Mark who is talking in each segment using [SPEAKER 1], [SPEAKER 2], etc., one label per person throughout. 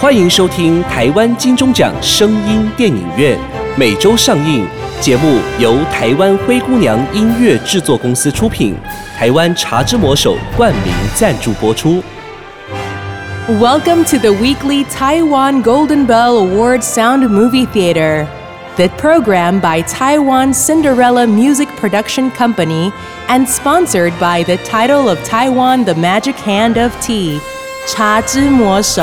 [SPEAKER 1] 欢迎收听台湾金钟奖声音电影院，每周上映。节目由台湾灰姑娘音乐制作公司出品，台湾茶之魔手冠名赞助播出。
[SPEAKER 2] Welcome to the weekly Taiwan Golden Bell Award Sound Movie Theater. The program by Taiwan Cinderella Music Production Company and sponsored by the title of Taiwan The Magic Hand of Tea, 茶之魔手。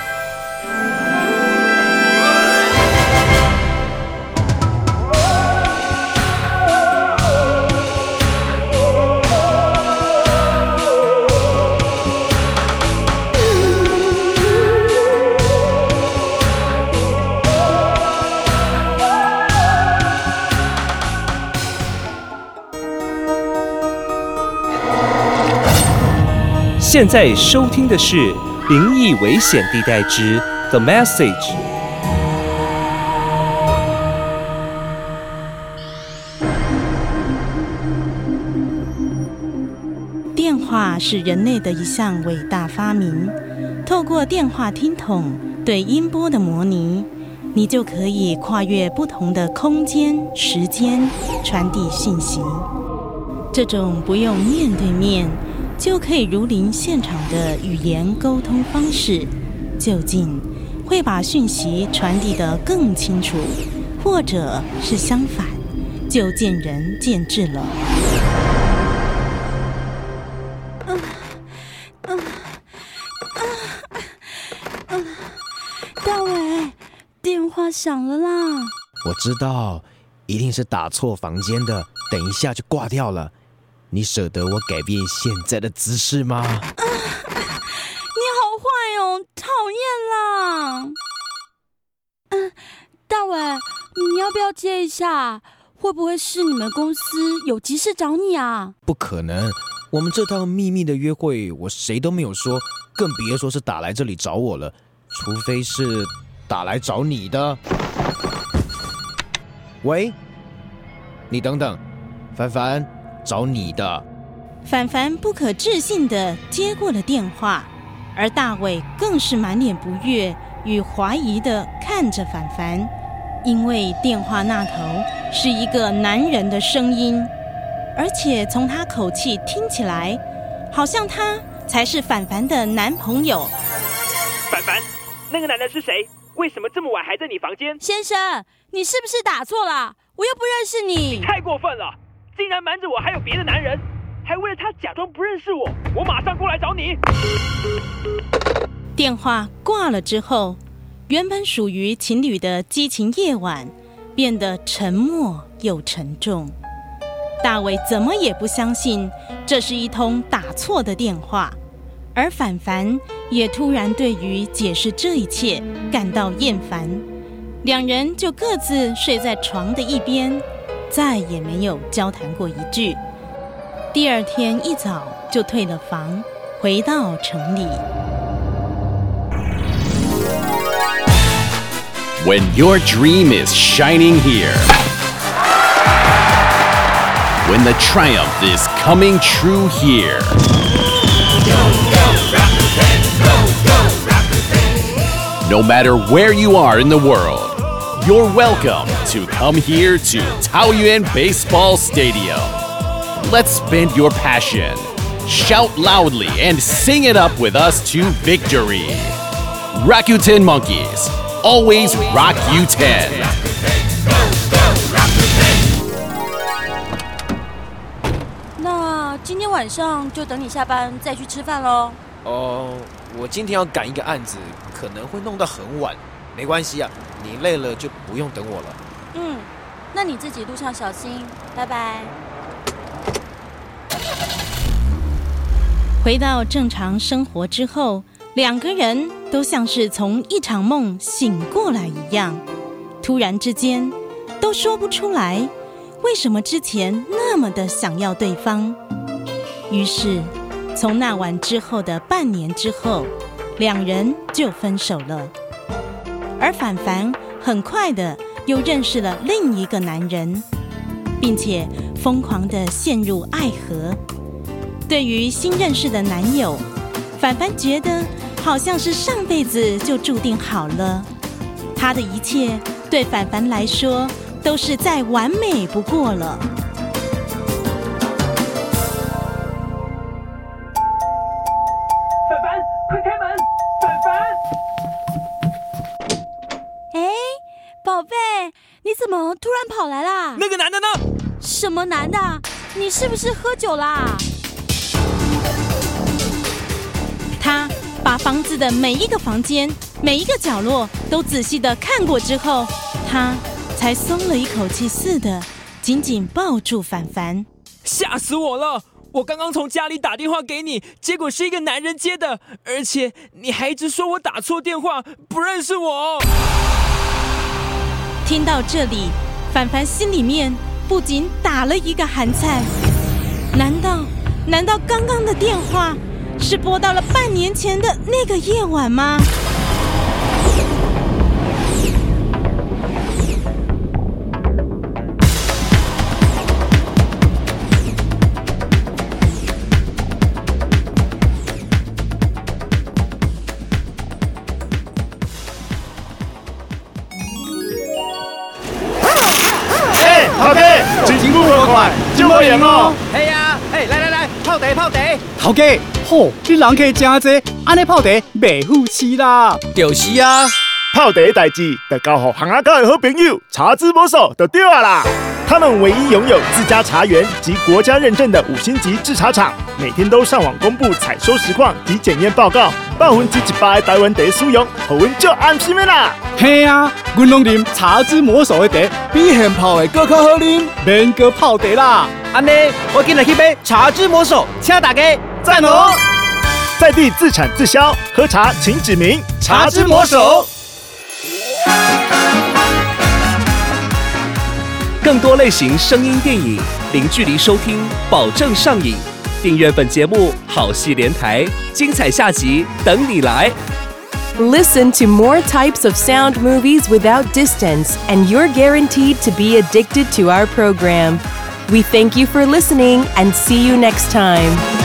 [SPEAKER 1] 现在收听的是《灵异危险地带之 The Message》。
[SPEAKER 3] 电话是人类的一项伟大发明，透过电话听筒对音波的模拟，你就可以跨越不同的空间、时间传递讯息。这种不用面对面就可以如临现场的语言沟通方式，究竟会把讯息传递得更清楚，或者是相反，就见仁见智了。
[SPEAKER 4] 大伟，电话响了啦！
[SPEAKER 5] 我知道，一定是打错房间的，等一下就挂掉了。你舍得我改变现在的姿势吗？
[SPEAKER 4] 你好坏哦，讨厌啦！大伟，你要不要接一下？会不会是你们公司有急事找你啊？
[SPEAKER 5] 不可能，我们这趟秘密的约会，我谁都没有说，更别说是打来这里找我了。除非是打来找你的。喂，你等等，凡凡。找你的。
[SPEAKER 3] 凡凡不可置信地接过了电话，而大伟更是满脸不悦与怀疑地看着凡凡，因为电话那头是一个男人的声音，而且从他口气听起来，好像他才是凡凡的男朋友。
[SPEAKER 6] 凡凡，那个男人是谁？为什么这么晚还在你房间？
[SPEAKER 4] 先生，你是不是打错了？我又不认识你。
[SPEAKER 6] 你太过分了！竟然瞒着我还有别的男人，还为了他假装不认识我，我马上过来找你。
[SPEAKER 3] 电话挂了之后，原本属于情侣的激情夜晚变得沉默又沉重。大伟怎么也不相信这是一通打错的电话，而凡凡也突然对于解释这一切感到厌烦，两人就各自睡在床的一边，再也没有交谈过一句。第二天一早就退了房，回到城里。
[SPEAKER 7] When your dream is shining here, when the triumph is coming true here, no matter where you are in the world,You're welcome to come here to Taoyuan Baseball Stadium. Let's spend your passion. Shout loudly and sing it up with us to victory. Rakuten Monkeys, always rock you 10.
[SPEAKER 4] 那今天晚上就等你下班再去吃饭咯。
[SPEAKER 5] 我今天要赶一个案子，可能会弄到很晚。没关系啊，你累了就不用等我了。
[SPEAKER 4] 那你自己路上小心，拜拜。
[SPEAKER 3] 回到正常生活之后，两个人都像是从一场梦醒过来一样，突然之间都说不出来为什么之前那么的想要对方。于是从那晚之后的半年之后，两人就分手了。而凡凡很快的又认识了另一个男人，并且疯狂的陷入爱河。对于新认识的男友，凡凡觉得好像是上辈子就注定好了。他的一切对凡凡来说都是再完美不过了。
[SPEAKER 6] 凡凡，快开门！凡凡，
[SPEAKER 4] 宝贝，你怎么突然跑来啦？
[SPEAKER 6] 那个男的呢？
[SPEAKER 4] 什么男的？你是不是喝酒啦？
[SPEAKER 3] 他把房子的每一个房间、每一个角落都仔细地看过之后，他才松了一口气似的，紧紧抱住凡凡。
[SPEAKER 6] 吓死我了！我刚刚从家里打电话给你，结果是一个男人接的，而且你还一直说我打错电话，不认识我。
[SPEAKER 3] 听到这里，凡凡心里面不仅打了一个寒颤。难道刚刚的电话是拨到了半年前的那个夜晚吗？
[SPEAKER 8] 头家，真久无看，真无闲哦。
[SPEAKER 9] 系啊，来，泡茶。
[SPEAKER 10] 头家，吼，你人客真多，安尼泡茶袂富气啦。
[SPEAKER 5] 就是啊，
[SPEAKER 8] 泡茶的代志，得交予行阿狗的好朋友茶之魔手就对啊啦。他们唯一拥有自家茶园及国家认证的5星级制茶厂，每天都上网公布采收实况及检验报告，100%的台湾茶使用，互阮足安心的啦。
[SPEAKER 10] 嘿啊，阮拢啉茶之魔手的茶，比现泡的更较好啉，免搁泡茶啦。
[SPEAKER 9] 安尼，我今日去买茶之魔手，请大家
[SPEAKER 8] 赞哦！在地自产自销，喝茶请指明茶之魔手。
[SPEAKER 1] 更多类型声音电影，零距离收听，保证上瘾。订阅本节目，好戏连台，精彩下集等你来。
[SPEAKER 2] Listen to more types of sound movies without distance, and you're guaranteed to be addicted to our program. We thank you for listening and see you next time.